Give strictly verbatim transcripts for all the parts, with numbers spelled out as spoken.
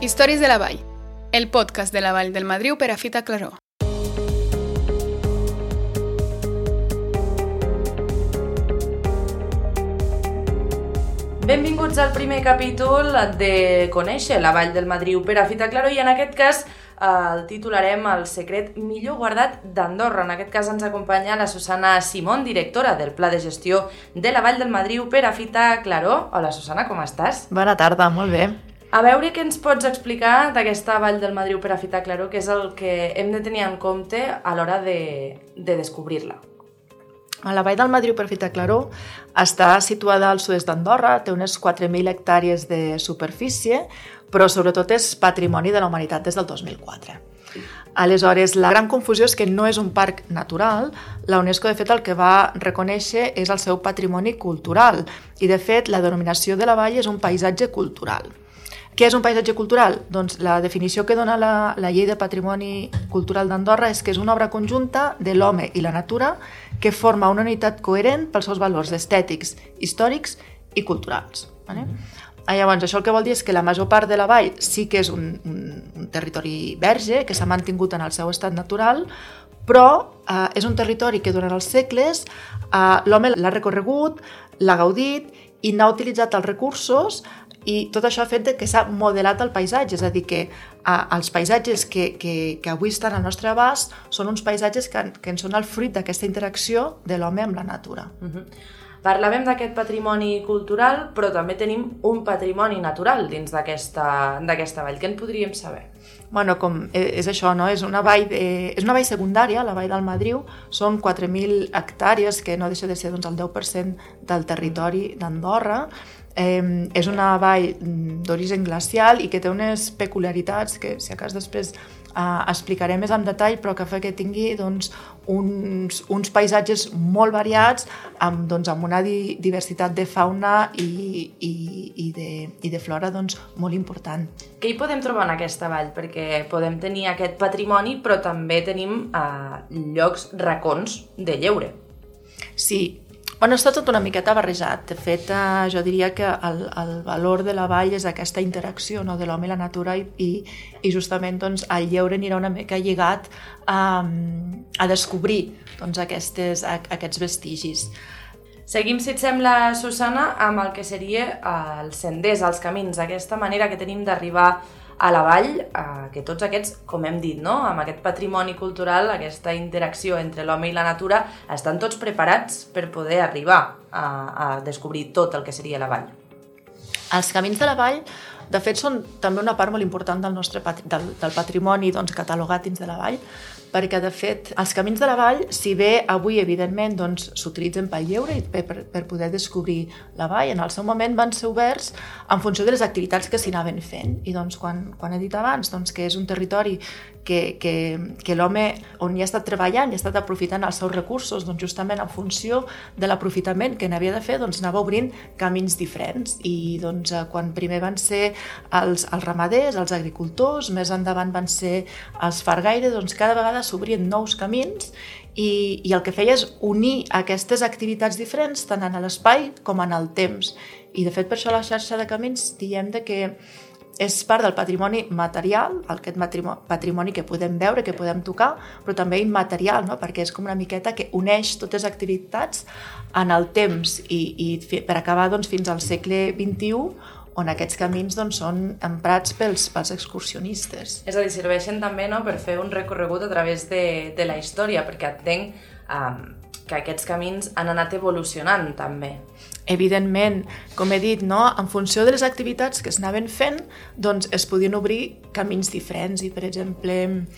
Històries de la Vall, el podcast de la Vall del Madriu per a Fita Claró. Benvinguts al primer capítol de Conèixer la Vall del Madriu per a Fita Claró i en aquest cas el titularem El secret millor guardat d'Andorra. En aquest cas ens acompanya la Susana Simón, directora del Pla de Gestió de la Vall del Madriu per a Fita Claró. Hola Susana, com estàs? Bona tarda, molt bé. A veure què ens pots explicar d'aquesta Vall del Madriu per a Fita Claró, que és el que hem de tenir en compte a l'hora de, de descobrir-la. La Vall del Madriu per a Fita Claró està situada al sud-est d'Andorra, té unes quatre mil hectàrees de superfície, però sobretot és patrimoni de la humanitat des del dos mil quatre. Aleshores, la gran confusió és que no és un parc natural. La UNESCO, de fet, el que va reconèixer és el seu patrimoni cultural i, de fet, la denominació de la vall és un paisatge cultural. Què és un paisatge cultural? Doncs la definició que dona la, la Llei de Patrimoni Cultural d'Andorra és que és una obra conjunta de l'home i la natura que forma una unitat coherent pels seus valors estètics, històrics i culturals. Vale? Llavors, això el que vol dir és que la major part de la vall sí que és un, un, un territori verge, que s'ha mantingut en el seu estat natural, però eh, és un territori que durant els segles eh, l'home l'ha recorregut, l'ha gaudit i n'ha utilitzat els recursos, i tot això ha fet que s'ha modelat el paisatge, és a dir, que eh, els paisatges que, que, que avui estan al nostre abast són uns paisatges que, que en són el fruit d'aquesta interacció de l'home amb la natura. Uh-huh. Parlàvem d'aquest patrimoni cultural, però també tenim un patrimoni natural dins d'aquesta d'aquesta vall. Què en podríem saber? Bueno, com és això, no? És una vall, de, és una vall secundària, la Vall del Madriu, són quatre mil hectàrees, que no deixa de ser doncs, el deu per cent del territori d'Andorra. Eh, és una vall d'origen glacial i que té unes peculiaritats que, si acas després eh, explicaré més en detall, però que fa que tingui doncs, uns, uns paisatges molt variats amb, doncs, amb una di, diversitat de fauna i, i, i, de, i de flora doncs, molt important. Què hi podem trobar en aquesta vall? Perquè podem tenir aquest patrimoni, però també tenim eh, llocs, racons de lleure. Sí, bueno, està tot una miqueta barrejat. De fet, eh, jo diria que el, el valor de la vall és aquesta interacció, no?, de l'home i la natura i, i, i justament doncs, el lleure anirà una mica lligat a, a descobrir doncs, aquestes, a, aquests vestigis. Seguim, si et sembla, Susana, amb el que seria els senders, els camins, aquesta manera que tenim d'arribar a la vall, eh, que tots aquests, com hem dit, no?, amb aquest patrimoni cultural, aquesta interacció entre l'home i la natura, estan tots preparats per poder arribar a, a descobrir tot el que seria la vall. Els camins de la vall, de fet, són també una part molt important del nostre patri- del, del patrimoni doncs, catalogat dins de la vall, perquè, de fet, els camins de la vall, si bé avui, evidentment, doncs, s'utilitzen pel lleure i per, per poder descobrir la vall, en el seu moment van ser oberts en funció de les activitats que s'hi anaven fent. I doncs, quan, quan he dit abans doncs, que és un territori que, que, que l'home, on hi ha estat treballant i ha estat aprofitant els seus recursos, doncs, justament en funció de l'aprofitament que n'havia de fer, doncs, anava obrint camins diferents. I doncs, quan primer van ser els, els ramaders, els agricultors, més endavant van ser els fargaires, doncs cada vegada s'obrien nous camins i, i el que feia és unir aquestes activitats diferents tant en l'espai com en el temps. I de fet per això la xarxa de camins diem de que és part del patrimoni material, aquest patrimoni que podem veure, que podem tocar, però també immaterial, no? Perquè és com una miqueta que uneix totes les activitats en el temps i, i per acabar doncs, fins al segle vint-i-u, on aquests camins doncs, són emprats pels, pels excursionistes. És a dir, serveixen també, no?, per fer un recorregut a través de, de la història, perquè entenc um, que aquests camins han anat evolucionant també. Evidentment, com he dit, no? En funció de les activitats que s'anaven fent, doncs es podien obrir camins diferents i, per exemple,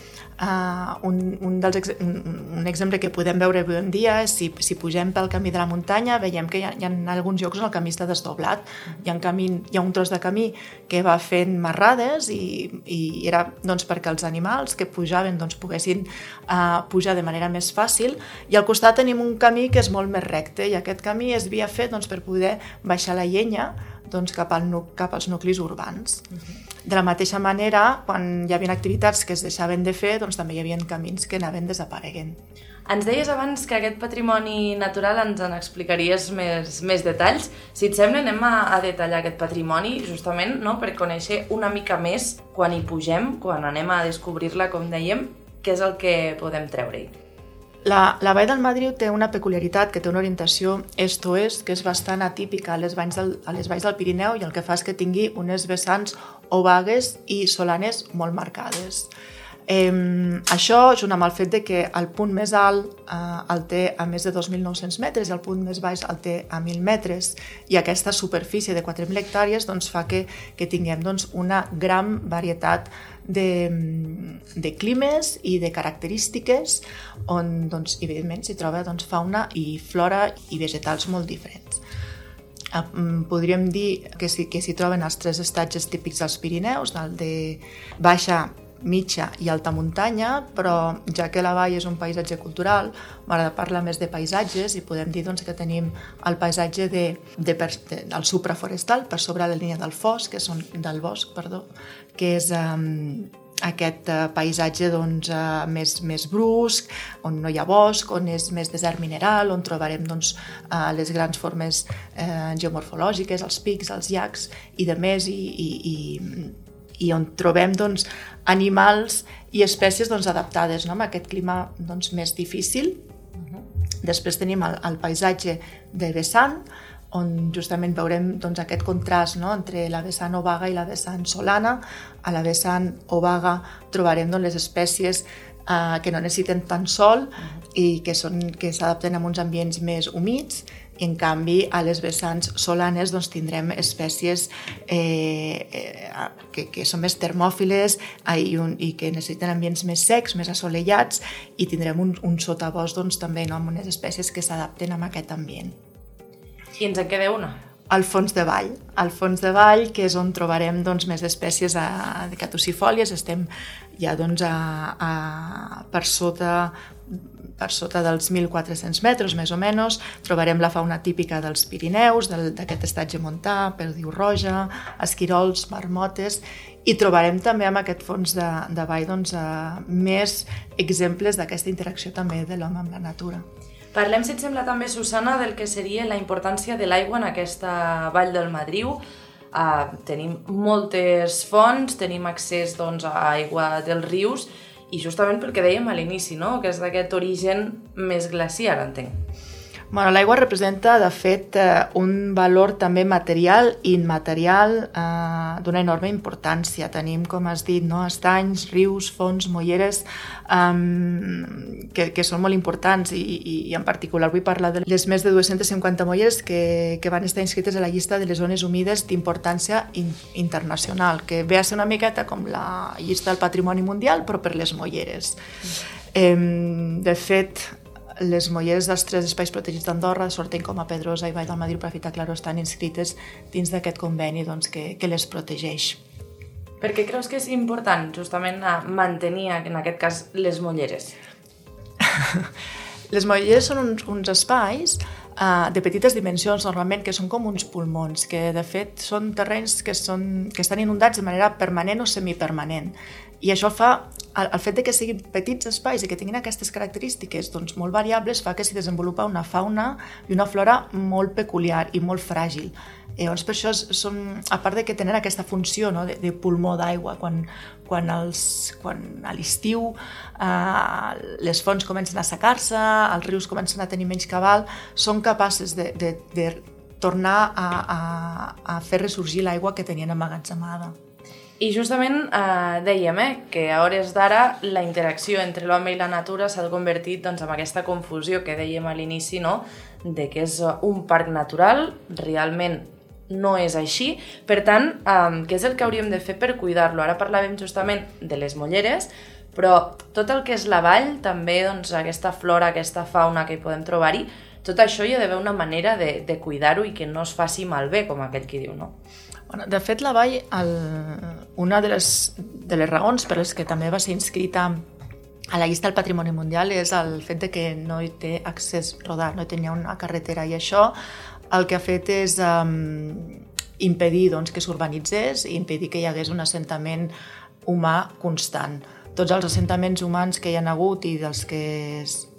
uh, un, un, dels ex un, un exemple que podem veure avui en dia és si, si pugem pel camí de la muntanya, veiem que hi ha, hi ha alguns llocs on el camí està desdoblat. Hi ha, un camí, hi ha un tros de camí que va fent marrades i, i era doncs, perquè els animals que pujaven doncs, poguessin uh, pujar de manera més fàcil, i al costat tenim un camí que és molt més recte i aquest camí es havia fet doncs, per poder baixar la llenya doncs, cap, al, cap als nuclis urbans. Uh-huh. De la mateixa manera, quan hi havia activitats que es deixaven de fer, doncs també hi havia camins que anaven desapareguent. Ens deies abans que aquest patrimoni natural ens en explicaries més, més detalls. Si et sembla, anem a, a detallar aquest patrimoni justament, no?, per conèixer una mica més quan hi pugem, quan anem a descobrir-la, com dèiem, què és el que podem treure-hi. La, la Vall del Madriu té una peculiaritat, que té una orientació est-oest, que és bastant atípica a les, valls del, a les valls del Pirineu, i el que fa és que tingui unes vessants obagues i solanes molt marcades. Eh, això, junt amb el fet de que el punt més alt eh, el té a més de dos mil nou-cents metres i el punt més baix el té a mil metres, i aquesta superfície de quatre mil hectàrees doncs, fa que, que tinguem doncs, una gran varietat de, de climes i de característiques on, doncs, evidentment, s'hi troba doncs, fauna i flora i vegetals molt diferents. Podríem dir que s'hi que s'hi troben els tres estatges típics dels Pirineus, el de baixa, mitja i alta muntanya, però ja que la vall és un paisatge cultural, m'agrada parlar més de paisatges i podem dir doncs, que tenim el paisatge de, de, de, del supraforestal per sobre la línia del fosc, que són, del bosc, perdó, que és um, aquest uh, paisatge doncs, uh, més, més brusc, on no hi ha bosc, on és més desert mineral, on trobarem doncs, uh, les grans formes uh, geomorfològiques, els pics, els llacs i de més, i, i, i i on trobem doncs, animals i espècies doncs, adaptades, no?, a aquest clima doncs, més difícil. Uh-huh. Després tenim el, el paisatge de vessant, on justament veurem doncs, aquest contrast, no?, entre la vessant obaga i la vessant solana. A la vessant obaga trobarem doncs, les espècies eh, que no necessiten tant sol uh-huh. i que són, que s'adapten a uns ambients més humits, i en canvi a les vessants solanes doncs, tindrem espècies eh, eh, que, que són més termòfiles eh, i, un, i que necessiten ambients més secs, més assolellats, i tindrem un, un sotabosc doncs, també, no?, amb unes espècies que s'adapten a aquest ambient. I ens en queda una? Al fons de vall, al fons de vall, que és on trobarem doncs, més espècies a, de caducifòlies. Estem ja doncs, a, a, per sota per sota dels mil quatre-cents metres, més o menys. Trobarem la fauna típica dels Pirineus, del, d'aquest estatge montà, perdiu roja, esquirols, marmotes, i trobarem també en aquest fons de, de vall doncs, uh, més exemples d'aquesta interacció també de l'home amb la natura. Parlem, si et sembla també, Susana, del que seria la importància de l'aigua en aquesta Vall del Madriu. Uh, tenim moltes fonts, tenim accés doncs, a aigua dels rius, i justament pel que dèiem a l'inici, no?, que és d'aquest origen més glaciar, entenc. Bueno, l'aigua representa, de fet, un valor també material i immaterial eh, d'una enorme importància. Tenim, com has dit, no? estanys, rius, fonts, molleres, eh, que, que són molt importants, i, i, i en particular vull parlar de les més de dues-centes cinquanta molleres que, que van estar inscrites a la llista de les zones humides d'importància in, internacional, que ve a ser una miqueta com la llista del patrimoni mundial, però per les molleres. Eh, de fet, les molleres dels tres espais protegits d'Andorra, Sorteny, Coma Pedrosa i Vall del Madriu, Prat i Claror, estan inscrites dins d'aquest conveni doncs, que, que les protegeix. Per què creus que és important justament mantenir, en aquest cas, les molleres? Les molleres són uns, uns espais uh, de petites dimensions, normalment, que són com uns pulmons, que de fet són terrenys que, són, que estan inundats de manera permanent o semipermanent. I això fa, el, el fet de que siguin petits espais i que tinguin aquestes característiques doncs, molt variables, fa que s'hi desenvolupa una fauna i una flora molt peculiar i molt fràgil. I llavors, per això són, a part de que tenen aquesta funció, no, de, de pulmó d'aigua, quan, quan, els, quan a l'estiu eh, les fonts comencen a assecar-se, els rius comencen a tenir menys cabal, són capaces de, de, de tornar a, a, a fer ressorgir l'aigua que tenien emmagatzemada. I justament eh, dèiem eh, que a hores d'ara la interacció entre l'home i la natura s'ha convertit doncs, en aquesta confusió que dèiem a l'inici, no? De que és un parc natural, realment no és així. Per tant, eh, què és el que hauríem de fer per cuidar-lo? Ara parlàvem justament de les molleres, però tot el que és la vall, també doncs, aquesta flora, aquesta fauna que hi podem trobar-hi, tot això hi ha d'haver una manera de, de cuidar-ho i que no es faci malbé, com aquell qui diu, no? Bueno, de fet, la vall, el, una de les, de les raons per les que també va ser inscrita a la llista del Patrimoni Mundial és el fet de que no hi té accés rodat, no hi tenia una carretera, i això el que ha fet és um, impedir doncs, que s'urbanitzés i impedir que hi hagués un assentament humà constant. Tots els assentaments humans que hi ha hagut i dels que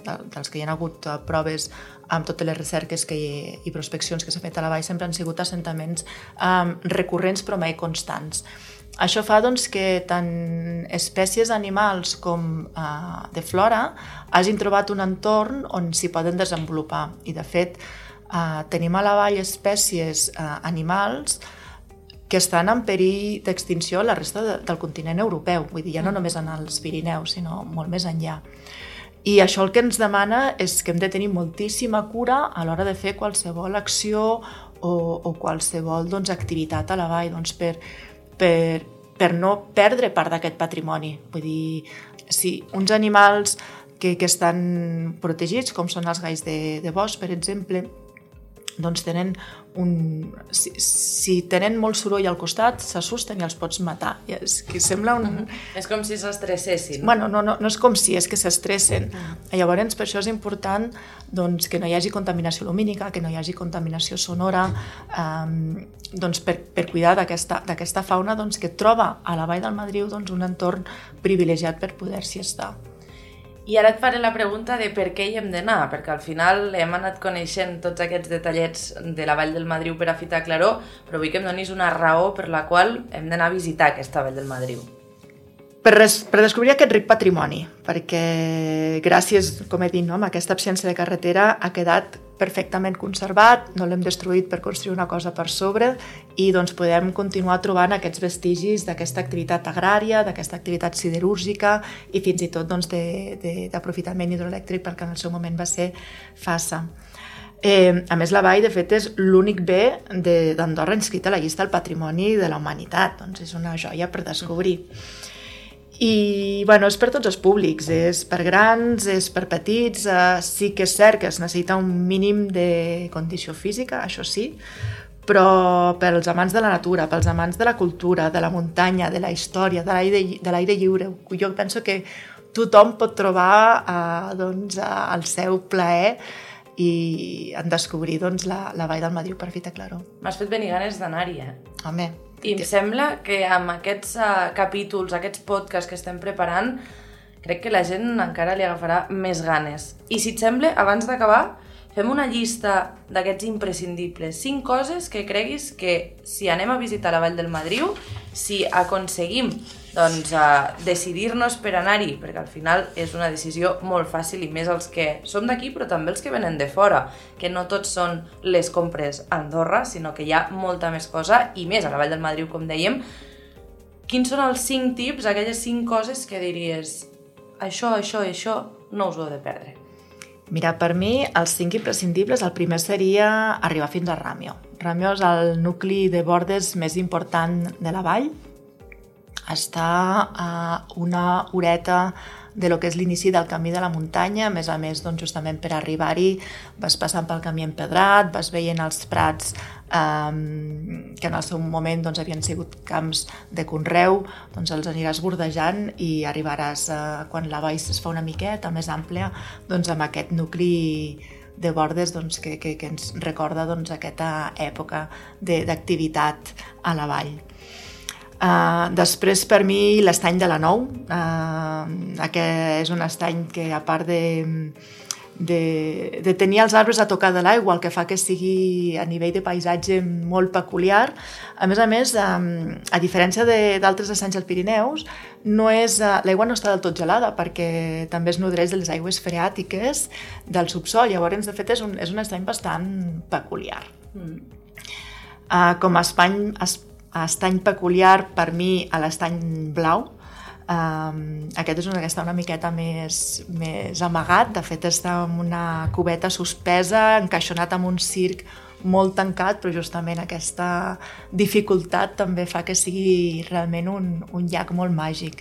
de, dels que hi ha hagut proves amb totes les recerques que hi, i prospeccions que s'ha fet a la vall, sempre han sigut assentaments um, recurrents però mai constants. Això fa doncs, que tant espècies animals com uh, de flora hagin trobat un entorn on s'hi poden desenvolupar. I, de fet, uh, tenim a la vall espècies uh, animals que estan en perill d'extinció a la resta de, del continent europeu. Vull dir, ja no només en els Pirineus, sinó molt més enllà. I això el que ens demana és que hem de tenir moltíssima cura a l'hora de fer qualsevol acció o, o qualsevol doncs, activitat a la vall, doncs, per, per, per no perdre part d'aquest patrimoni. Vull dir, si uns animals que, que estan protegits, com són els galls de, de bosc, per exemple, doncs tenen un... Si, si tenen molt soroll al costat, s'assusten i els pots matar. I és que sembla un... Uh-huh. És com si s'estressessin. Bueno, no, no, no és com si, és que s'estressen. Uh-huh. Llavors, per això és important doncs, que no hi hagi contaminació lumínica, que no hi hagi contaminació sonora, um, doncs, per, per cuidar d'aquesta d'aquesta fauna doncs, que troba a la Vall del Madriu doncs, un entorn privilegiat per poder-s'hi estar. I ara et faré la pregunta de per què hi hem d'anar, perquè al final hem anat coneixent tots aquests detallets de la Vall del Madriu per a Fita Claror, però vull que em donis una raó per la qual hem d'anar a visitar aquesta Vall del Madriu. Per, res, per descobrir aquest ric patrimoni, perquè gràcies, com he dit, no, amb aquesta absència de carretera ha quedat perfectament conservat, no l'hem destruït per construir una cosa per sobre i doncs podem continuar trobant aquests vestigis d'aquesta activitat agrària, d'aquesta activitat siderúrgica i fins i tot doncs, d'aprofitament hidroelèctric, perquè en el seu moment va ser Fassa. Eh, a més, la vall, de fet, és l'únic bé d'Andorra inscrit a la llista del patrimoni de la humanitat, doncs és una joia per descobrir. I bueno, és per tots els públics, és per grans, és per petits, eh, sí que és cert que es necessita un mínim de condició física, això sí, però per als amants de la natura, pels amants de la cultura, de la muntanya, de la història, de l'aire de l'aire lliure, jo penso que tothom pot trobar eh, doncs, el seu plaer i en descobrir doncs, la, la Vall del Madriu per Fita Claror. M'has fet venir ganes d'anar-hi, eh? Home, I em sembla que amb aquests uh, capítols, aquests podcasts que estem preparant, crec que la gent encara li agafarà més ganes. I si et sembla, abans d'acabar, fem una llista d'aquests imprescindibles. Cinc coses que creguis que si anem a visitar la Vall del Madriu, si aconseguim doncs, uh, decidir-nos per anar-hi, perquè al final és una decisió molt fàcil i més els que som d'aquí, però també els que venen de fora, que no tots són les compres a Andorra, sinó que hi ha molta més cosa i més a la Vall del Madriu, com dèiem. Quins són els cinc tips, aquelles cinc coses que diries això, això i això no us ho heu de perdre? Mira, per mi, els cinc imprescindibles, el primer seria arribar fins a Ràmio. Ràmio és el nucli de bordes més important de la vall. Està a una horeta de lo que és l'inici del camí de la muntanya. A més a més, doncs, justament per arribar-hi vas passant pel camí empedrat, vas veient els prats eh, que en el seu moment doncs, havien sigut camps de conreu, doncs els aniràs bordejant i arribaràs, eh, quan la vall es fa una miqueta més àmplia, doncs, amb aquest nucli de bordes doncs, que, que, que ens recorda doncs, aquesta època d'activitat a la vall. Uh, després, per mi, l'estany de la Nou. Uh, aquest és un estany que, a part de, de, de tenir els arbres a tocar de l'aigua, el que fa que sigui a nivell de paisatge molt peculiar. A més a més, um, a diferència d'altres estanys dels Pirineus, no és, uh, l'aigua no està del tot gelada, perquè també es nodreix de les aigües freàtiques del subsol. Llavors, de fet, és un, és un estany bastant peculiar. Mm. Uh, com a espany... estany peculiar per mi a l'estany blau. Um, aquest és una, que està una miqueta més, més amagat, de fet està en una cubeta suspesa, encaixonat amb un circ molt tancat, però justament aquesta dificultat també fa que sigui realment un, un llac molt màgic.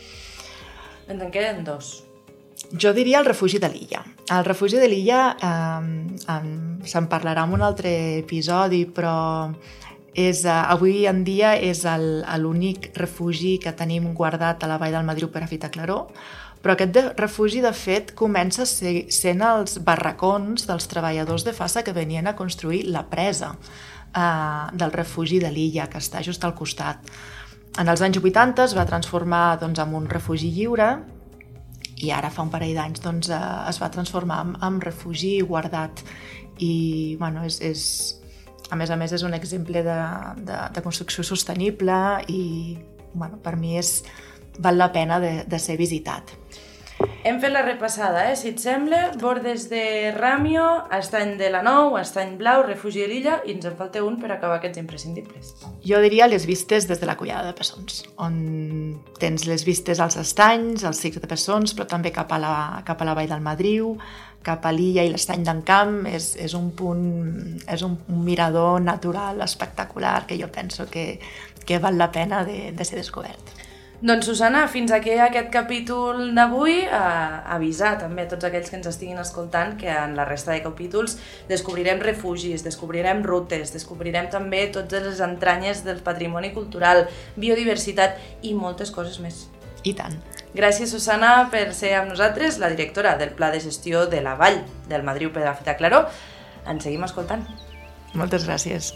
En queden dos. Jo diria el refugi de l'Illa. El refugi de l'Illa eh, se'n parlarà en un altre episodi, però és, uh, avui en dia és l'únic refugi que tenim guardat a la Vall del Madriu per a Fita Claror, però aquest de, refugi, de fet, comença ser, sent els barracons dels treballadors de Fassa que venien a construir la presa uh, del refugi de l'Illa, que està just al costat. En els anys vuitanta es va transformar doncs, en un refugi lliure i ara fa un parell d'anys doncs, eh, es va transformar en, en refugi guardat i bueno, és, és, a més a més és un exemple de, de, de construcció sostenible i bueno, per mi és, val la pena de, de ser visitat. Hem fet la repassada, eh? Si et sembla, bordes de Ràmio, Estany de la Nou, Estany Blau, Refugi de l'Illa, i ens en falta un per acabar aquests imprescindibles. Jo diria les vistes des de la Collada de Pessons, on tens les vistes als estanys, als cics de Pessons, però també cap a la, cap a la Vall del Madriu, cap a l'Illa i l'Estany d'en Camp. És, és un punt, és un, un mirador natural espectacular que jo penso que, que val la pena de, de ser descobert. Doncs, Susana, fins aquí aquest capítol d'avui. Eh, avisar també a tots aquells que ens estiguin escoltant que en la resta de capítols descobrirem refugis, descobrirem rutes, descobrirem també totes les entranyes del patrimoni cultural, biodiversitat i moltes coses més. I tant. Gràcies, Susana, per ser amb nosaltres, la directora del Pla de Gestió de la Vall del Madriu Perafita Claró. Ens seguim escoltant. Moltes gràcies.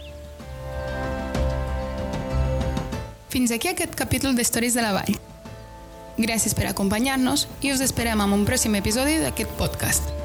Fins aquí aquest capítol d'Històries de la Vall. Gràcies per acompanyar-nos i us esperem en un pròxim episodi d'aquest podcast.